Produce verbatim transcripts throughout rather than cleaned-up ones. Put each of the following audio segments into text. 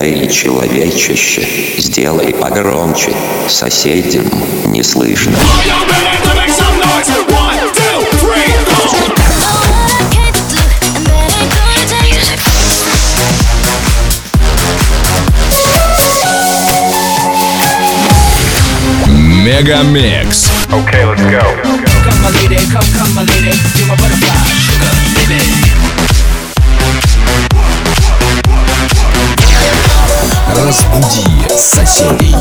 Эй, человечище, сделай погромче, соседям не слышно. Мегамикс. Okay, let's go. Come my lady, come, come my lady, you're my butterfly, sugar, baby. Разбуди соседей.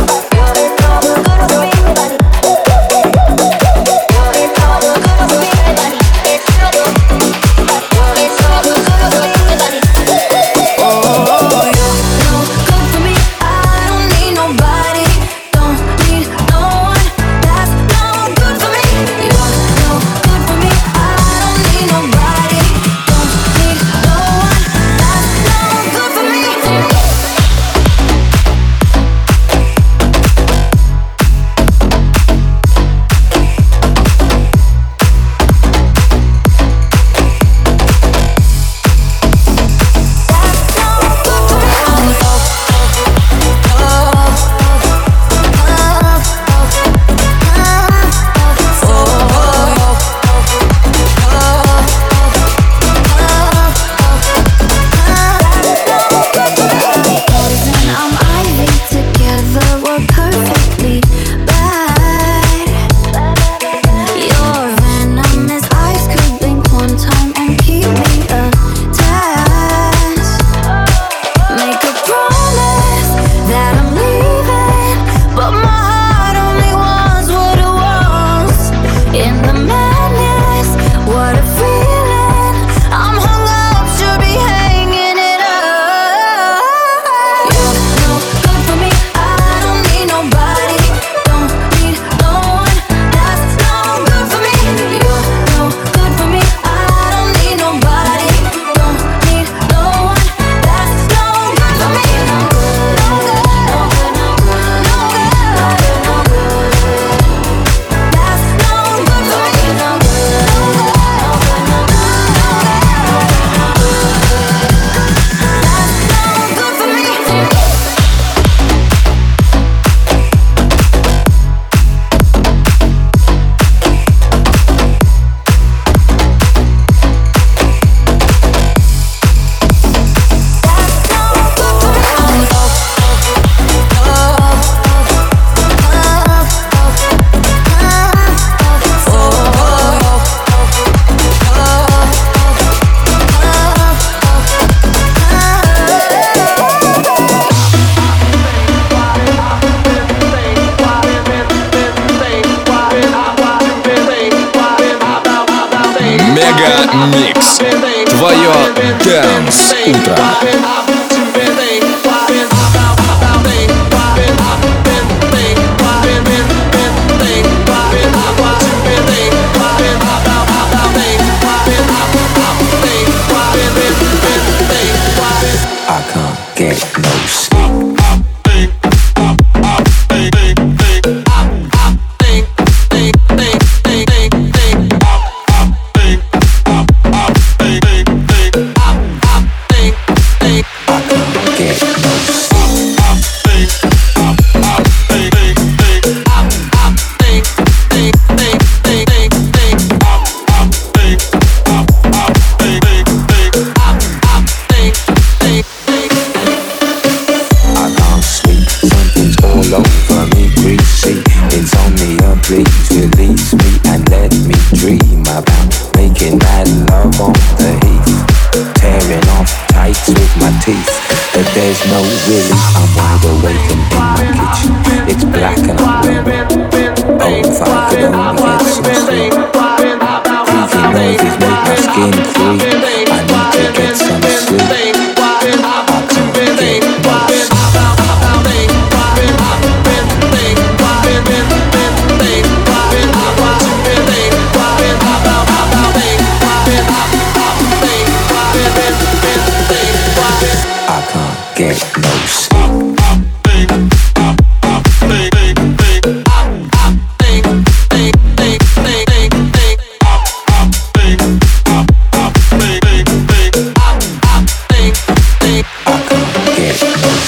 Мегамикс. Твое Dance утро. I can't get no sleep. There's no really, I'm wide awake and in my kitchen. It's black and I'm lonely. Oh, if I could only get some sleep. Creepy noises make my skin creep. I need to get some sleep. I can't get no sleep. I can't get no sleep. I can't get no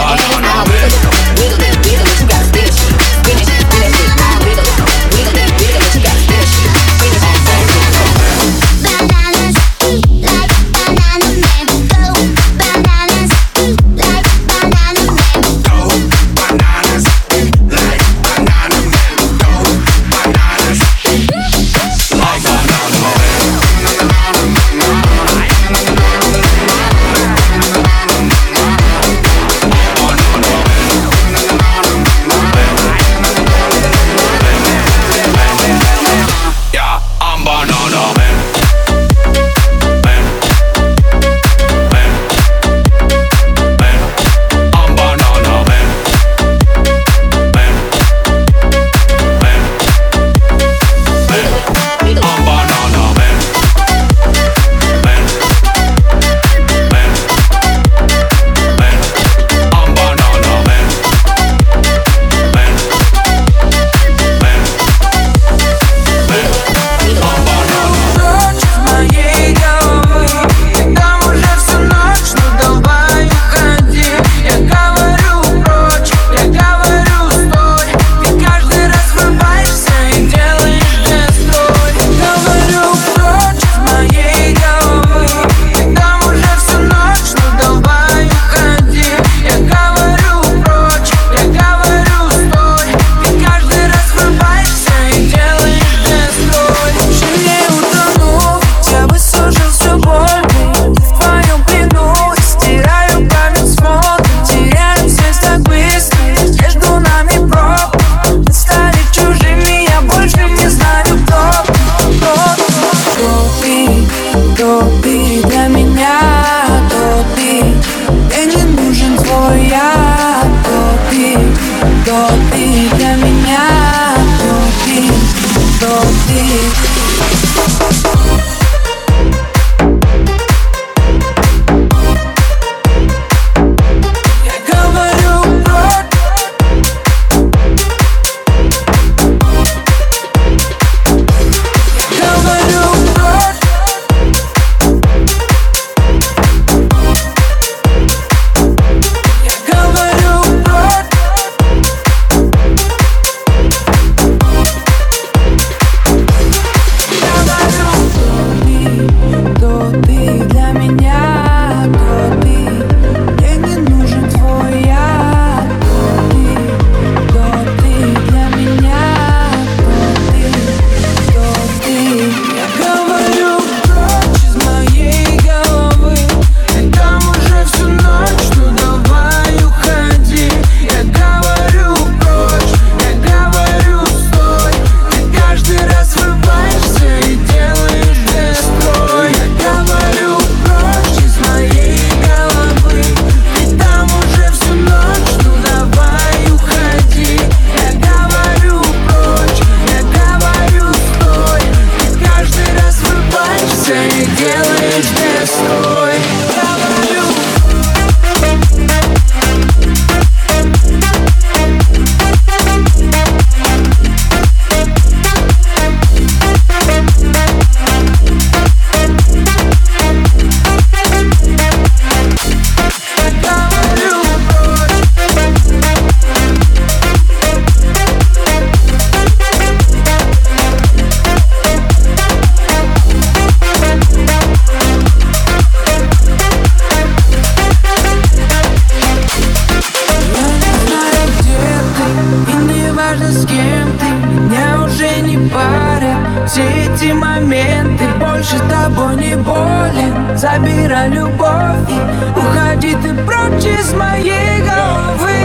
эти моменты больше тобой не болен. Забирай любовь и уходи ты прочь из моей головы.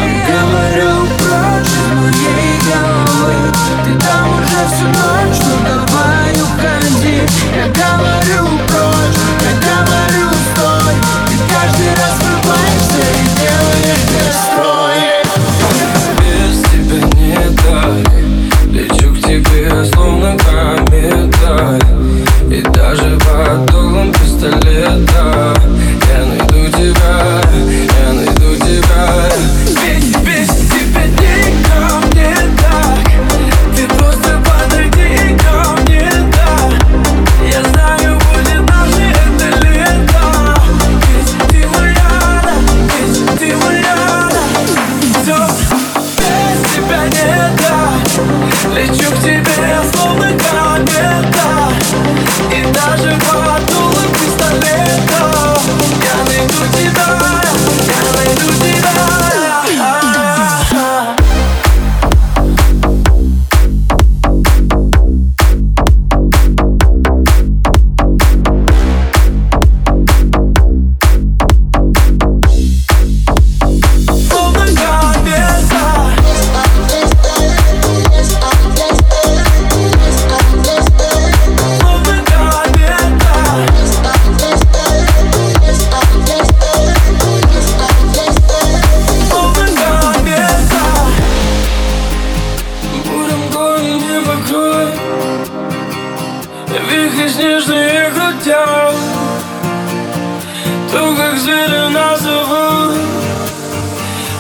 Говорю, прочь из моей головы. Ты там уже всю ночь, ну давай уходи. Я говорю, прочь, я говорю, стой. Ты каждый раз врубаешься и делаешь настрой. Без тебя не так. Лечу к тебе, словно комета. И даже под дулом пистолета я найду тебя, я найду тебя.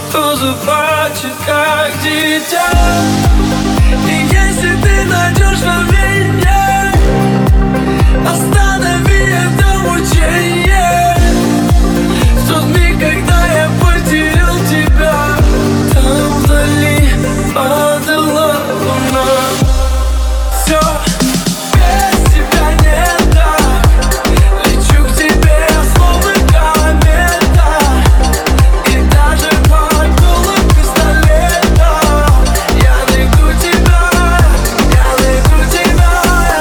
тоже плачет, как дитя. И если ты найдешь во мне, останови это мучение. В тот миг, когда я потерял тебя, там вдали падала луна. Все, без тебя не так. Лечу к тебе, словно комета. И даже под дулом пистолета я найду тебя, я найду тебя.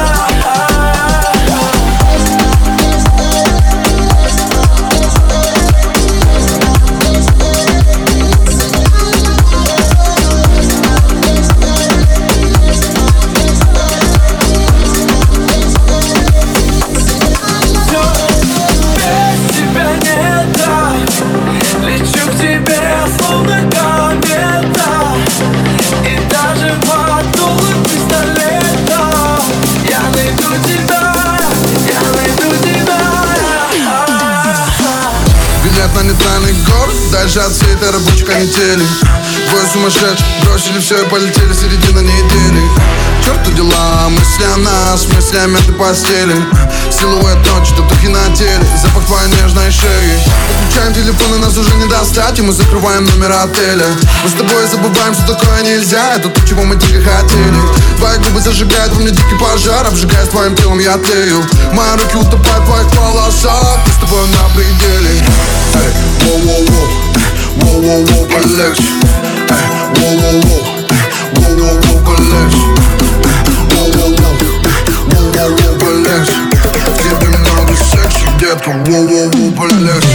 На нейтральный город, дальше от всей этой рабочей канители. Двое сумасшедших бросили все и полетели середина недели. Черту дела, мысли о нас, мысли о мятой постели. Силуэт ночи, татухи на теле, запах твоей нежной шеи. Включаем телефон, и нас уже не достать, и мы закрываем номер отеля. Мы с тобой забываем, что такое нельзя, это то, чего мы дико хотели. Твои губы зажигают во мне дикий пожар, обжигаясь твоим телом, я тлею. Мои руки утопают в твоих волосах, мы с тобой на пределе. Эй, воу-воу-воу, воу-воу-воу, полегче. Эй, воу-воу-воу, воу-воу-воу, полегче. Воу-воу-воу, воу-воу-воу, полегче. В тебе много секса, детка, воу-воу-воу, полегче.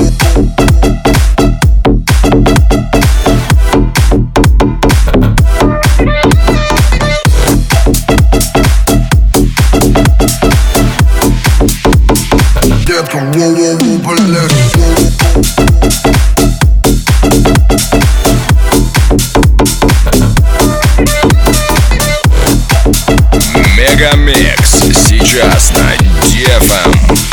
Детка, воу-воу-воу, полегче. Мегамикс сейчас на ди эф эм.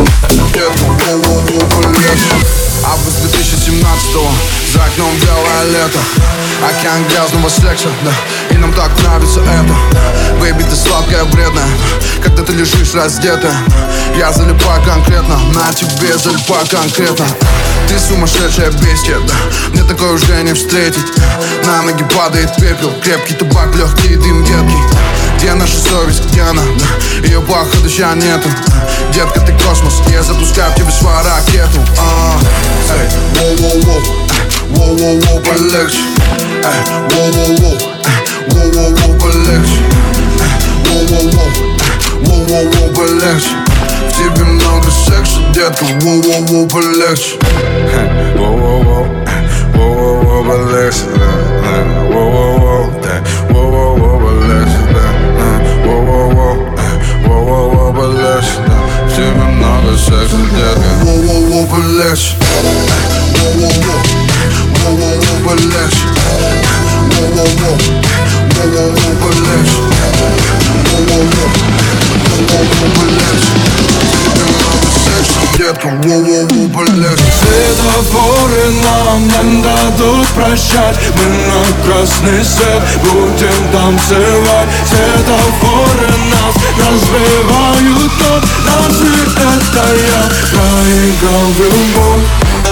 Август две тысячи семнадцатого, за окном белое лето. Океан грязного секса, да, и нам так нравится это. Бэйби, ты сладкая, вредная, когда ты лежишь раздетая. Я залипаю конкретно, на тебе залипаю конкретно. Ты сумасшедшая бестия, да, мне такое уже не встретить. На ноги падает пепел, крепкий табак, легкий дым едкий. Где наша совесть, где она, да, ее походу ща нету. Детка, ты космос, я запускаю в тебе свою ракету. Эй, воу-воу-воу, воу-воу-воу, полегче. Эй, воу-воу-воу, воу-воу-воу, полегче. Воу-воу-воу, воу-воу-воу, полегче. В тебе много секса, детка, воу-воу-воу, полегче. Воу-воу-воу, воу-воу-воу, полегче. Воу-воу-воу, воу-воу-воу, полегче. Воу-воу-воу, воу-воу-воу, полегче. В тебе много секса, детка, воу-воу-воу, полегче. Воу-воу-воу, воу-воу-воу, полегче. Воу-воу-воу, воу-воу-воу, полегче. Воу-воу-воу, воу-воу-воу, полегче. В тебе много секса, детка, воу-воу-воу, полегче. Светофоры нам не дадут прощать. Мы на красный свет будем танцевать. Светофоры нас разбивают, но разве это я проиграл в любовь?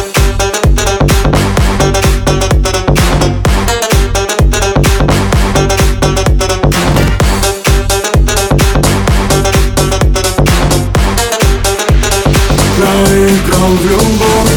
Проиграл в любовь.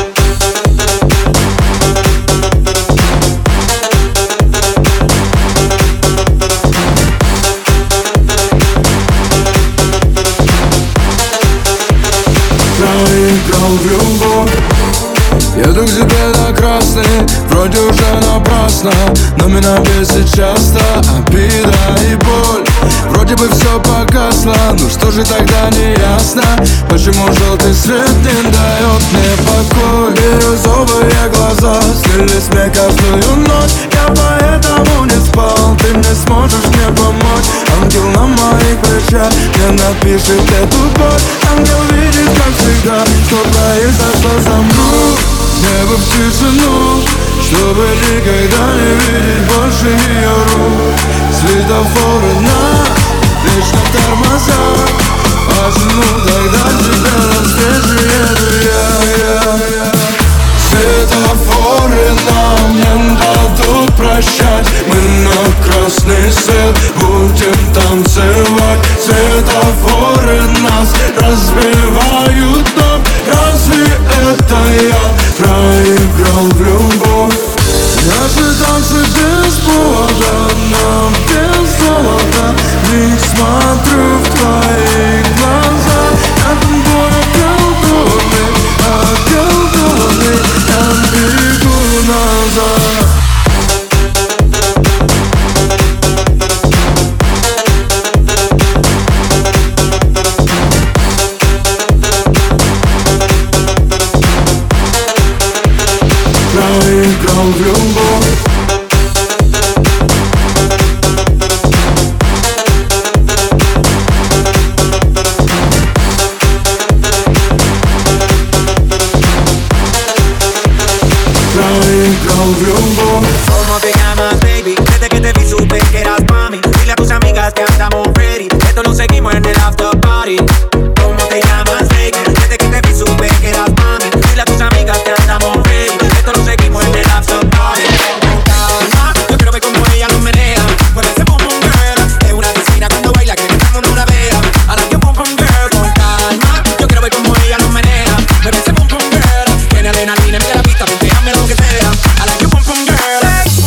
Проиграл в любовь. Еду к тебе на красный, вроде уже напрасно, но меня бесит часто обида и боль. Вроде бы все погасло, ну что же тогда не ясно, почему желтый свет не дает мне покой. Бирюзовые глаза снились мне каждую ночь. Я поэтому не спал. Ты не сможешь мне помочь. Ангел на моих плечах мне напишет эту боль. Ангел видит, как всегда, что произошло со мной. Небо в тишину, чтобы никогда не видеть больше ее рук. Светофоры на вечно тормоза. Пожну тогда тебя навстречу еду я, я, я. Светофоры нам не дадут прощать. Мы на красный свет будем танцевать. Светофоры нас разбивают, но разве это я проиграл в любовь? Наши танцы без повода, нам без золота. В них смотрю в твои глаза. Я тобой околдованный, околдованный. Я бегу назад. Проиграл в любовь. Proigral в любовь. ¿Cómo te llamas, baby? Desde que te vi supe que eras mami. Dile a tus amigas que andamos ready. Esto lo seguimos en el after party. ¿Cómo te llamas, baby? Desde que te vi supe que eras mami. Dile a tus amigas que andamos ready. Esto lo seguimos en el after party. Calma, yo quiero ver cómo ella lo menea. Mueve ese boom boom girl. Es una asesina cuando baila que todo el mundo la vea. I like your boom boom girl. Con calma, yo quiero ver cómo ella lo menea. Mueve ese boom boom girl. Tiene adrenalina en la pista, ponteame lo que sea. I like your boom boom girl.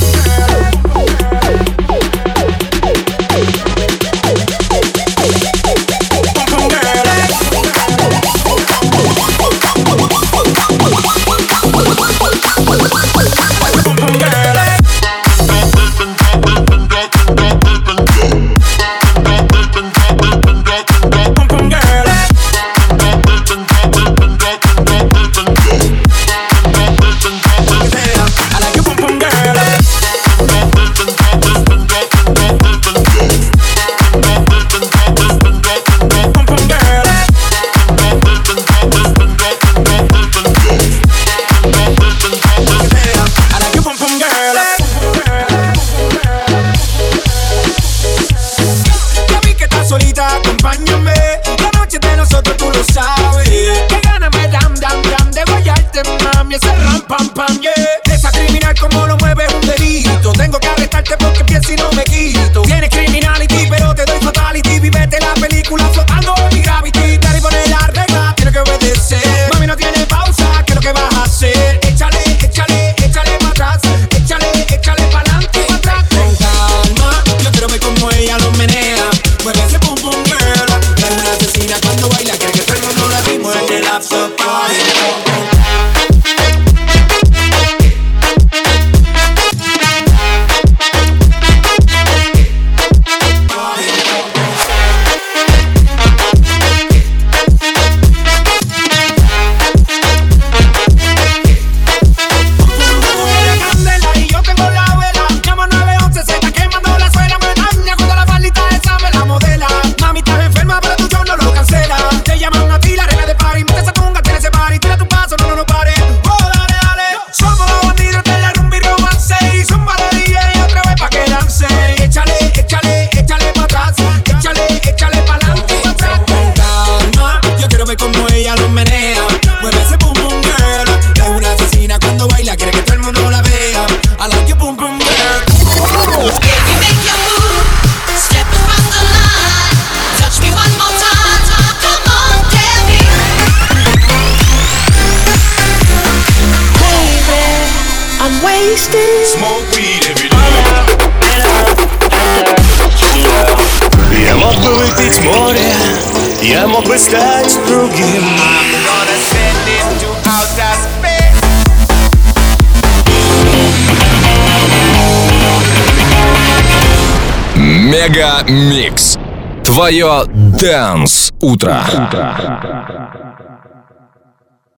Pam, pam, yeah. Esa criminal como lo mueve es un delito. Tengo que arrestarte porque pienso y no me quito. Tienes criminality pero te doy fatality. Vivete la película flotando en mi gravity. Dale y poner la regla, tienes que obedecer. Mami no tiene pausa, ¿qué es lo que vas a hacer? Échale, échale, échale para atrás. Échale, échale para adelante y para atrás. Con calma, yo quiero ver cómo ella lo menea. Mueve ese pum pum girl. Es una asesina cuando baila. Quiere que todo el mundo la vimos en el after party. Smoke weed every day. Я мог бы выпить море, я мог бы стать другим. Мега Микс. Твое Dance утро.